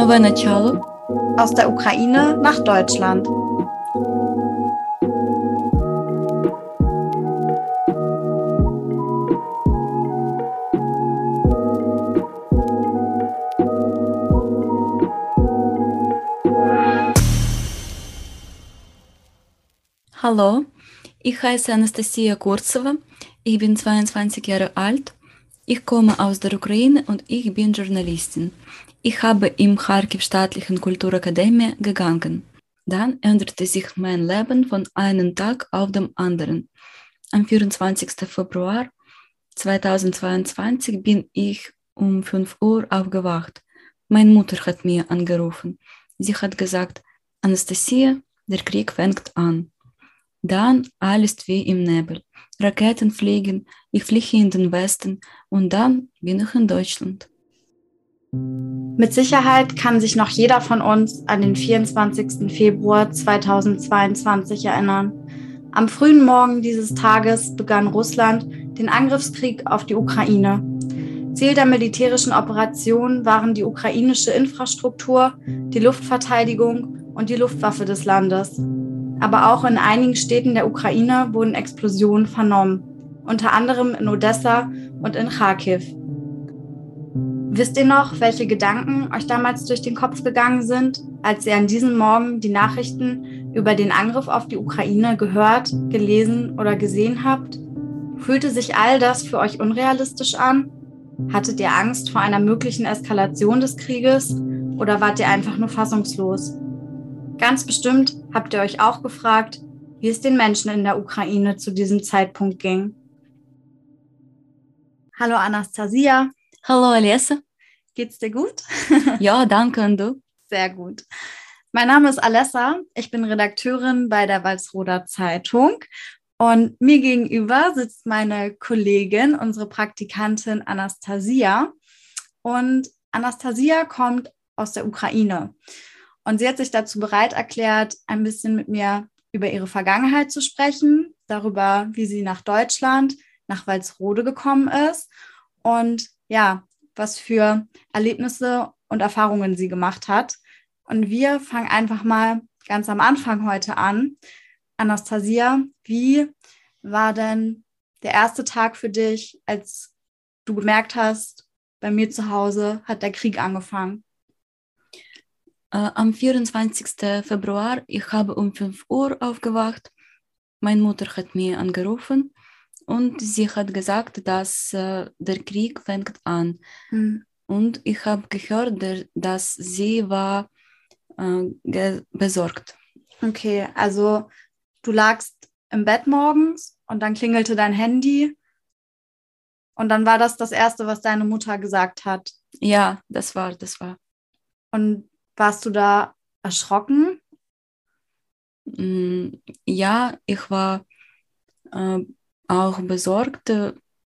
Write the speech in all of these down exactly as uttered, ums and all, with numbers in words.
Новое начало. Aus der Ukraine nach Deutschland. Hallo, ich heiße Anastasia Kurzewa, ich bin zweiundzwanzig Jahre alt, ich komme aus der Ukraine und ich bin Journalistin. Ich habe im Charkiw Staatlichen Kulturakademie gegangen. Dann änderte sich mein Leben von einem Tag auf den anderen. Am vierundzwanzigsten Februar zweitausendzweiundzwanzig bin ich um fünf Uhr aufgewacht. Meine Mutter hat mir angerufen. Sie hat gesagt, Anastasia, der Krieg fängt an. Dann alles wie im Nebel. Raketen fliegen, ich fliege in den Westen und dann bin ich in Deutschland. Mit Sicherheit kann sich noch jeder von uns an den vierundzwanzigsten Februar zweitausendzweiundzwanzig erinnern. Am frühen Morgen dieses Tages begann Russland den Angriffskrieg auf die Ukraine. Ziel der militärischen Operation waren die ukrainische Infrastruktur, die Luftverteidigung und die Luftwaffe des Landes. Aber auch in einigen Städten der Ukraine wurden Explosionen vernommen, unter anderem in Odessa und in Charkiw. Wisst ihr noch, welche Gedanken euch damals durch den Kopf gegangen sind, als ihr an diesem Morgen die Nachrichten über den Angriff auf die Ukraine gehört, gelesen oder gesehen habt? Fühlte sich all das für euch unrealistisch an? Hattet ihr Angst vor einer möglichen Eskalation des Krieges oder wart ihr einfach nur fassungslos? Ganz bestimmt habt ihr euch auch gefragt, wie es den Menschen in der Ukraine zu diesem Zeitpunkt ging. Hallo Anastasia. Hallo Alessa. Geht's dir gut? Ja, danke, und du? Sehr gut. Mein Name ist Alessa. Ich bin Redakteurin bei der Walsroder Zeitung. Und mir gegenüber sitzt meine Kollegin, unsere Praktikantin Anastasia. Und Anastasia kommt aus der Ukraine. Und sie hat sich dazu bereit erklärt, ein bisschen mit mir über ihre Vergangenheit zu sprechen, darüber, wie sie nach Deutschland, nach Walsrode gekommen ist und ja, was für Erlebnisse und Erfahrungen sie gemacht hat. Und wir fangen einfach mal ganz am Anfang heute an. Anastasia, wie war denn der erste Tag für dich, als du gemerkt hast, bei mir zu Hause hat der Krieg angefangen? Äh, am vierundzwanzigsten Februar, ich habe um fünf Uhr aufgewacht. Meine Mutter hat mir angerufen und sie hat gesagt, dass äh, der Krieg fängt an. Hm. Und ich habe gehört, der, dass sie war äh, ge- besorgt. Okay, also du lagst im Bett morgens und dann klingelte dein Handy und dann war das das Erste, was deine Mutter gesagt hat. Ja, das war, das war. Und warst du da erschrocken? Mm, ja, ich war äh, auch besorgt. Äh,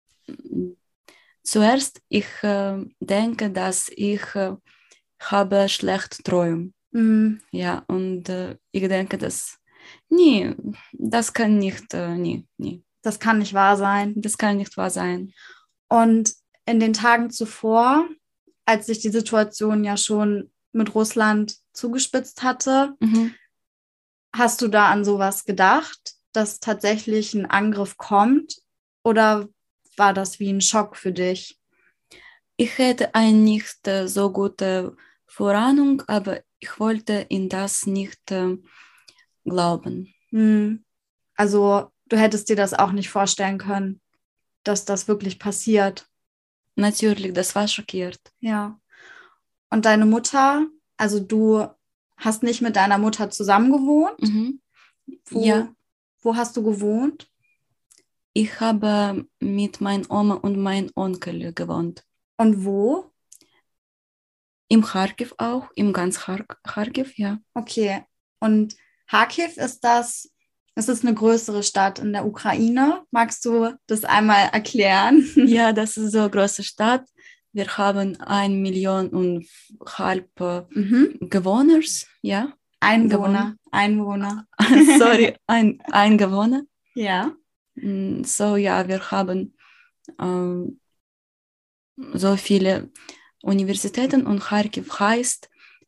Zuerst, ich äh, denke, dass ich äh, habe schlecht träume. Mhm. Ja, und äh, ich denke, dass nie, das kann nicht, äh, nie, nie. Das kann nicht wahr sein. Das kann nicht wahr sein. Und in den Tagen zuvor, als sich die Situation ja schon mit Russland zugespitzt hatte, Mhm. hast du da an sowas gedacht, dass tatsächlich ein Angriff kommt? Oder war das wie ein Schock für dich? Ich hätte eine nicht äh, so gute Vorahnung, aber ich wollte in das nicht äh, glauben. Hm. Also du hättest dir das auch nicht vorstellen können, dass das wirklich passiert. Natürlich, das war schockiert. Ja. Und deine Mutter, also du hast nicht mit deiner Mutter zusammen gewohnt? Mhm. Wo, Ja, wo hast du gewohnt? ich habe mit meiner Oma und meinem Onkel gewohnt. Und wo? Im Charkiw auch, im ganz Char- Charkiw, ja. Okay. Und Charkiw, ist das, ist das eine größere Stadt in der Ukraine? Magst du das einmal erklären? Ja, das ist so eine große Stadt. Wir haben eine Million und halb äh, Mhm. Bewohner, ja. Einwohner. Einwohner. Sorry, ein Einwohner. Ja. Mm, So, ja, wir haben ähm, so viele Universitäten und Charkiw heißt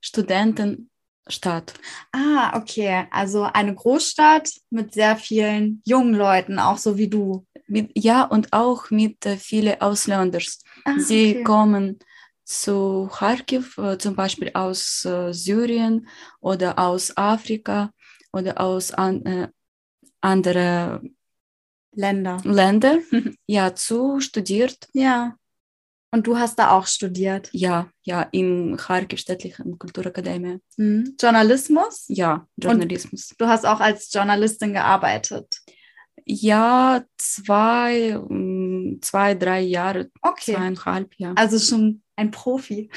Studentenstadt. Ah, okay. Also eine Großstadt mit sehr vielen jungen Leuten, auch so wie du. Mit, ja, und auch mit äh, vielen Ausländern. Ah, Sie okay. kommen zu Kharkiv, äh, zum Beispiel aus äh, Syrien oder aus Afrika oder aus an, äh, anderen Länder. Ländern, ja, zu studiert. Ja. Und du hast da auch studiert. Ja, ja, in Kharkiv Städtlichen Kulturakademie. Hm. Journalismus? Ja, Journalismus. Und du hast auch als Journalistin gearbeitet. Ja, zwei, mm, zwei, drei Jahre, Okay. zweieinhalb, ja. Also schon ein Profi.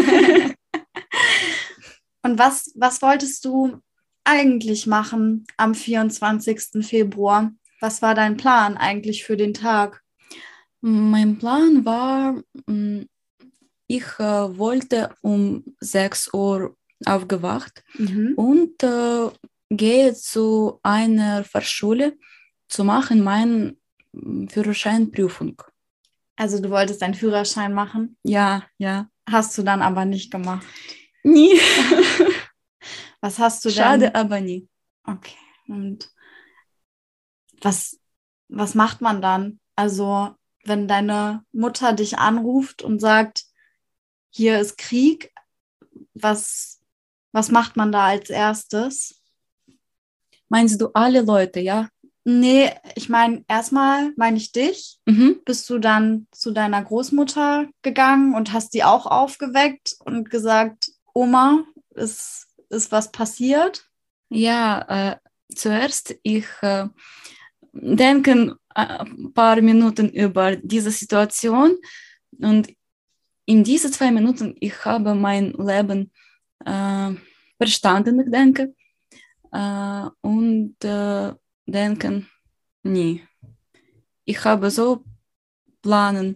Und was, was wolltest du eigentlich machen am vierundzwanzigsten Februar? Was war dein Plan eigentlich für den Tag? Mein Plan war, mm, ich äh, wollte um sechs Uhr aufgewacht Mhm. und äh, gehe zu einer Fachschule zu machen meine mm, Führerscheinprüfung. Also du wolltest deinen Führerschein machen, Ja, ja. hast du dann aber nicht gemacht. Nie. Was hast du Schade, denn? aber nie. Okay. Und was, was macht man dann? Also wenn deine Mutter dich anruft und sagt, hier ist Krieg, was, was macht man da als erstes? Meinst du alle Leute, ja? Nee, ich meine, erstmal meine ich dich. Mhm. Bist du dann zu deiner Großmutter gegangen und hast die auch aufgeweckt und gesagt, Oma, ist, ist was passiert? Ja, äh, zuerst ich äh, denke ein paar Minuten über diese Situation und in diese zwei Minuten ich habe mein Leben äh, verstanden, ich denke, äh, und äh, denken, nie. Ich habe so Planen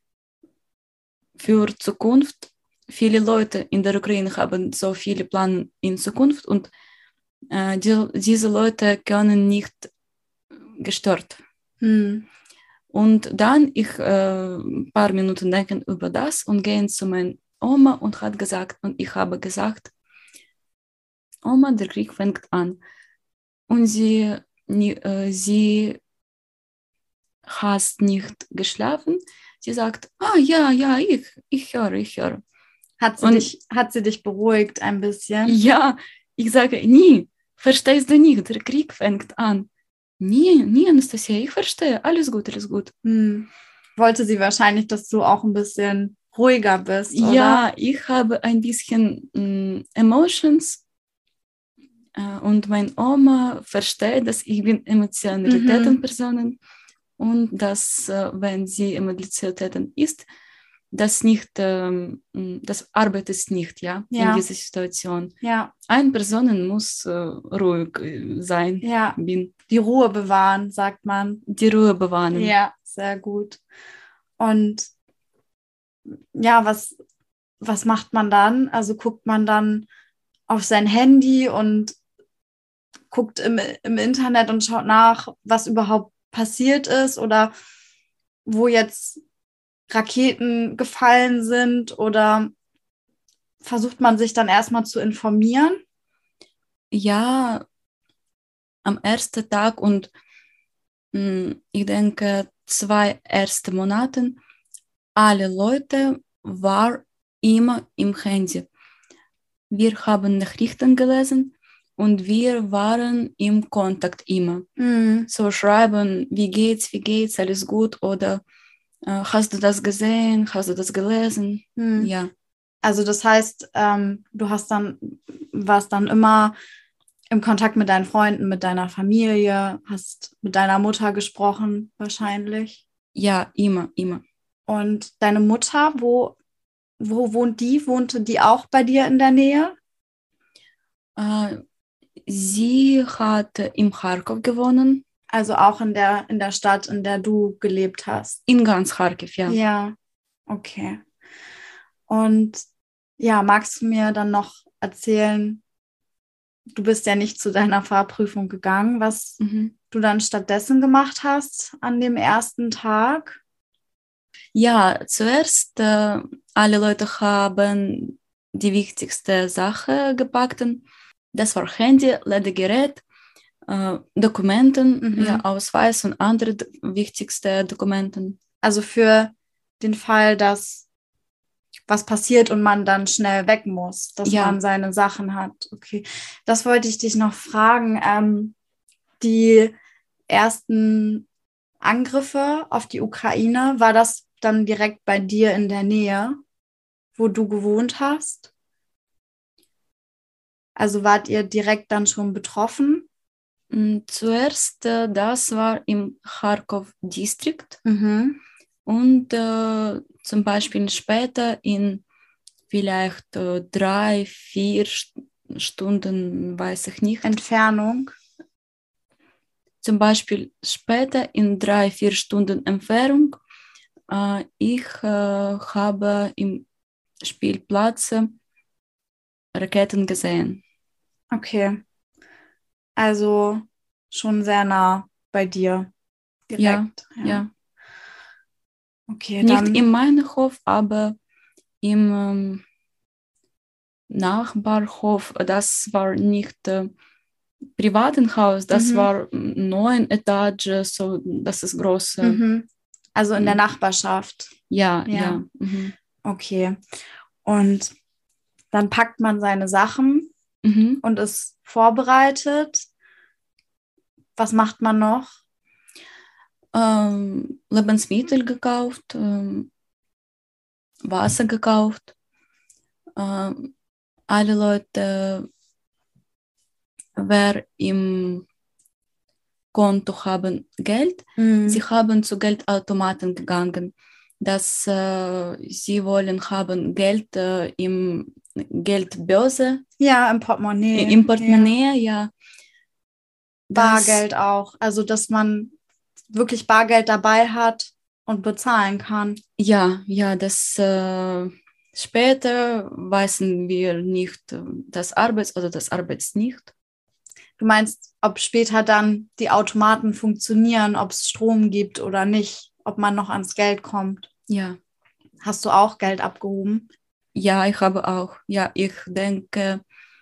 für Zukunft. Viele Leute in der Ukraine haben so viele Pläne in Zukunft und äh, die, diese Leute können nicht gestört. Hm. Und dann ich äh, ein paar Minuten denken über das und gehen zu meiner Oma und hat gesagt, und ich habe gesagt, Oma, der Krieg fängt an. Und sie, äh, sie hat nicht geschlafen. Sie sagt, ah ja, ja, ich, ich höre, ich höre. Hat sie, Und dich, hat sie dich beruhigt ein bisschen? ja, ich sage, nie, verstehst du nicht, der Krieg fängt an. Nie, nie, Anastasia, ich verstehe, alles gut, alles gut. Hm. Wollte sie wahrscheinlich, dass du auch ein bisschen ruhiger bist, oder? Ja, ich habe ein bisschen mh, Emotions äh, und meine Oma versteht, dass ich bin Emotionalitätenpersonen mhm. und dass, äh, wenn sie Emotionalitäten ist, das nicht, ähm, das arbeitet nicht, ja, Ja. in dieser Situation. Ja. Eine Person muss äh, ruhig sein. Ja. Bin. Die Ruhe bewahren, sagt man. Die Ruhe bewahren. Ja, sehr gut. Und ja, was, was macht man dann? Also guckt man dann auf sein Handy und guckt im, im Internet und schaut nach, was überhaupt passiert ist oder wo jetzt Raketen gefallen sind, oder versucht man sich dann erstmal zu informieren? Ja, am ersten Tag und mh, ich denke zwei erste Monaten, alle Leute waren immer im Handy. Wir haben Nachrichten gelesen und wir waren im Kontakt immer. Mhm. So schreiben, wie geht's, wie geht's, alles gut oder äh, hast du das gesehen, hast du das gelesen? Mhm. Ja. Also das heißt, ähm, du hast dann, warst dann immer im Kontakt mit deinen Freunden, mit deiner Familie, hast mit deiner Mutter gesprochen wahrscheinlich. Ja, immer, immer. Und deine Mutter, wo, wo wohnt die? Wohnte die auch bei dir in der Nähe? Äh, sie hat in Kharkov gewohnt. Also auch in der, in der Stadt, in der du gelebt hast? In ganz Kharkiv, ja. Ja, okay. Und ja, magst du mir dann noch erzählen, du bist ja nicht zu deiner Fahrprüfung gegangen, was mhm. du dann stattdessen gemacht hast an dem ersten Tag? Ja, zuerst äh, alle Leute haben die wichtigste Sache gepackt. Das war Handy, Ladegerät, äh, Dokumenten, Mhm. ja, Ausweis und andere d- wichtigste Dokumenten. Also für den Fall, dass was passiert und man dann schnell weg muss, dass Ja. man seine Sachen hat. Okay, das wollte ich dich noch fragen. Ähm, die ersten Angriffe auf die Ukraine, war das dann direkt bei dir in der Nähe, wo du gewohnt hast? Also wart ihr direkt dann schon betroffen? Mm, Zuerst, äh, das war im Charkow-Distrikt Mhm. und äh, zum Beispiel später in vielleicht äh, drei, vier St- Stunden, weiß ich nicht. Entfernung. Zum Beispiel später in drei, vier Stunden Entfernung. Äh, ich äh, habe im Spielplatz äh, Raketen gesehen. Okay. Also schon sehr nah bei dir. Ja, Direkt. ja. Okay, Nicht dann. in meinem Hof, aber im ähm, Nachbarhof. Das war nicht äh, privaten Haus, das Mhm. war neun Etage, so das ist groß. Äh, Mhm. Also in der Mhm. Nachbarschaft. ja, Ja. ja. Mhm. Okay. Und dann packt man seine Sachen Mhm. und ist vorbereitet. Was macht man noch? Ähm, Lebensmittel gekauft, ähm, Wasser gekauft. Ähm, alle Leute, wer im Konto haben Geld, Mhm. sie haben zu Geldautomaten gegangen. Dass äh, sie wollen haben Geld äh, im Geldbörse, Ja, im Portemonnaie. i- im Ja. Portemonnaie, ja. Das, Bargeld auch. Also, dass man wirklich Bargeld dabei hat und bezahlen kann. ja, ja, das äh, später wissen wir nicht äh, das Arbeits- oder das Arbeits nicht. Du meinst, ob später dann die Automaten funktionieren, ob es Strom gibt oder nicht, ob man noch ans Geld kommt. Ja, Hast du auch Geld abgehoben? ja, ich habe auch, ja, ich denke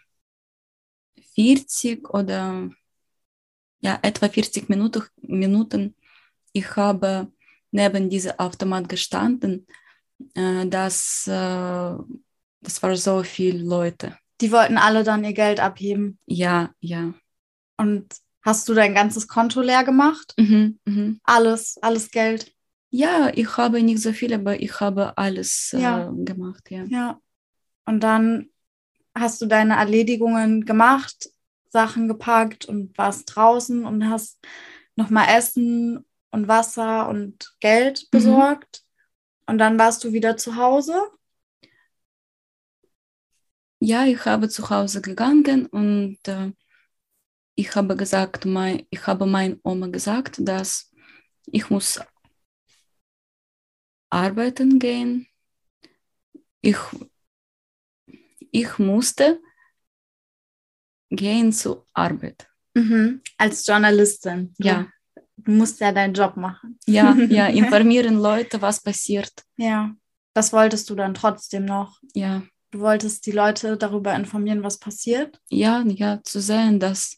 vierzig oder ja, etwa vierzig Minuten, Minuten. Ich habe neben diesem Automat gestanden. Äh, das, äh, das war so viele Leute. Die wollten alle dann ihr Geld abheben. Ja, ja. Und hast du dein ganzes Konto leer gemacht? Mhm, mhm. Alles, alles Geld. Ja, ich habe nicht so viel, aber ich habe alles Ja. äh, gemacht, ja. Ja. Und dann hast du deine Erledigungen gemacht, Sachen gepackt und warst draußen und hast nochmal Essen und Wasser und Geld Mhm. besorgt. Und dann warst du wieder zu Hause. Ja, ich habe zu Hause gegangen und äh, ich habe gesagt, mein, ich habe meiner Oma gesagt, dass ich muss arbeiten gehen. Ich, ich musste gehen zur Arbeit. Mhm. Als Journalistin. Du, Ja, du musst ja deinen Job machen. ja, ja, informieren Leute, was passiert. Ja, das wolltest du dann trotzdem noch. Ja, Du wolltest die Leute darüber informieren, was passiert. ja, ja, zu sehen, dass,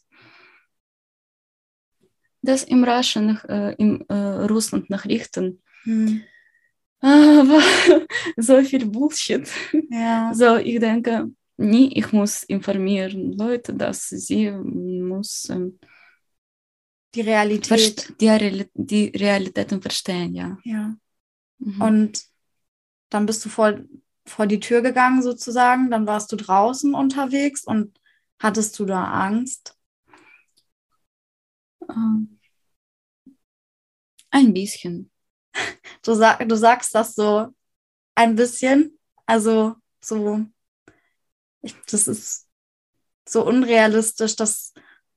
dass im Russland, äh, im äh, Russland Nachrichten Hm. äh, war so viel Bullshit. Ja, So, ich denke, nie, ich muss informieren Leute, dass sie müssen die Realität. verst- die, Reali- die Realitäten verstehen, ja. Ja. Mhm. Und dann bist du vor, vor die Tür gegangen sozusagen, dann warst du draußen unterwegs und hattest du da Angst? Ähm, ein bisschen. Du, sag, du sagst das so ein bisschen, also so, ich, das ist so unrealistisch, dass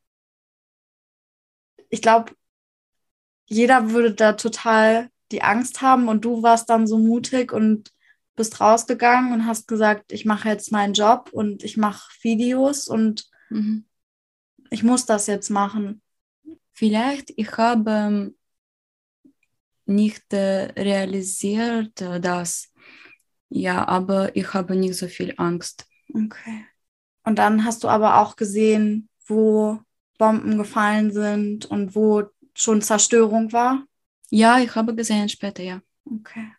ich glaube, jeder würde da total die Angst haben und du warst dann so mutig und bist rausgegangen und hast gesagt, ich mache jetzt meinen Job und ich mache Videos und Mhm. ich muss das jetzt machen. Vielleicht ich habe nicht äh, realisiert äh, das, ja, aber ich habe nicht so viel Angst. Okay. Und dann hast du aber auch gesehen, wo Bomben gefallen sind und wo schon Zerstörung war? Ja, ich habe gesehen später, ja. Okay.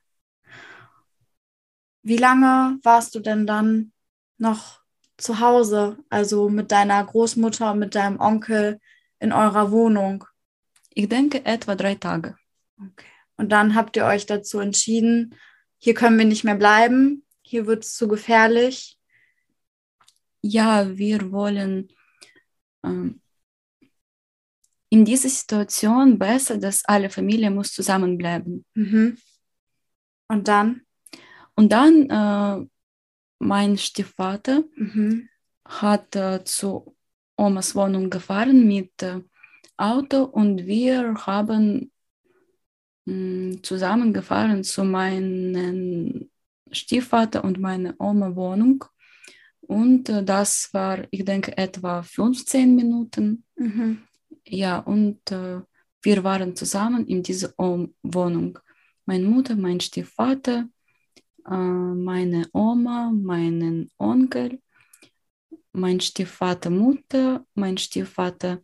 Wie lange warst du denn dann noch zu Hause, also mit deiner Großmutter und mit deinem Onkel in eurer Wohnung? Ich denke etwa drei Tage. Okay. Und dann habt ihr euch dazu entschieden, hier können wir nicht mehr bleiben, hier wird es zu gefährlich. Ja, wir wollen ähm, in dieser Situation besser, dass alle Familie muss zusammenbleiben. Mhm. Und dann? Und dann äh, mein Stiefvater Mhm. hat äh, zu Omas Wohnung gefahren mit äh, Auto und wir haben mh, zusammengefahren zu meinem Stiefvater und meiner Oma Wohnung. Und äh, das war, ich denke, etwa fünfzehn Minuten. Mhm. Ja, und äh, wir waren zusammen in dieser Om- Wohnung. Meine Mutter, mein Stiefvater, äh, meine Oma, meinen Onkel, mein Stiefvater Mutter, mein Stiefvater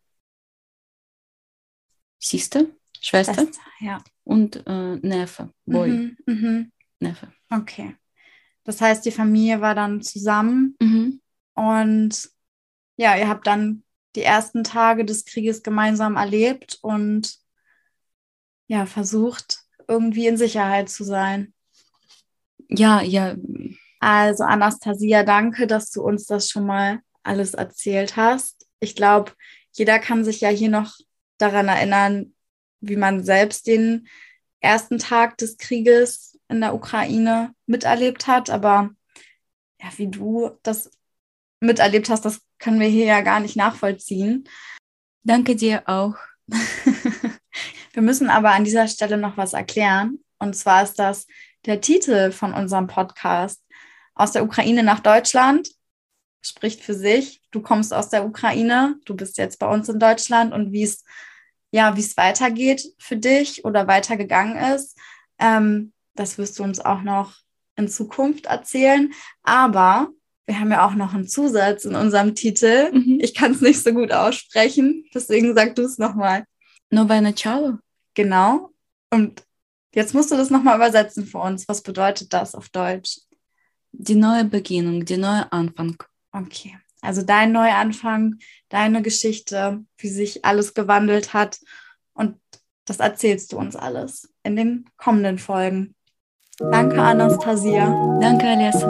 Sister, Schwester Schwester, ja. und äh, Neffe, Boy, Mhm. Mhm. Neffe. Okay. Das heißt, die Familie war dann zusammen Mhm. und ja, ihr habt dann die ersten Tage des Krieges gemeinsam erlebt und ja, versucht, irgendwie in Sicherheit zu sein. Ja, ja, Also Anastasia, danke, dass du uns das schon mal alles erzählt hast. Ich glaube, jeder kann sich ja hier noch daran erinnern, wie man selbst den ersten Tag des Krieges in der Ukraine miterlebt hat. Aber ja, wie du das miterlebt hast, das können wir hier ja gar nicht nachvollziehen. danke dir auch. Wir müssen aber an dieser Stelle noch was erklären. Und zwar ist das der Titel von unserem Podcast. Aus der Ukraine nach Deutschland spricht für sich. Du kommst aus der Ukraine, du bist jetzt bei uns in Deutschland und wie es ja, wie es weitergeht für dich oder weitergegangen ist, ähm, das wirst du uns auch noch in Zukunft erzählen. Aber wir haben ja auch noch einen Zusatz in unserem Titel. Mhm. Ich kann es nicht so gut aussprechen, deswegen sag du es nochmal. Nowe начало. Genau. Und jetzt musst du das nochmal übersetzen für uns. Was bedeutet das auf Deutsch? Die neue Beginnung, die neue Anfang. Okay. Also dein Neuanfang, deine Geschichte, wie sich alles gewandelt hat. Und das erzählst du uns alles in den kommenden Folgen. Danke, Anastasia. Danke, Alessa.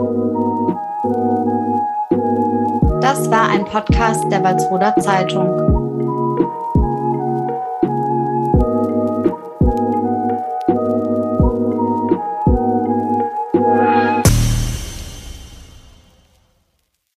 Das war ein Podcast der Walsroder Zeitung.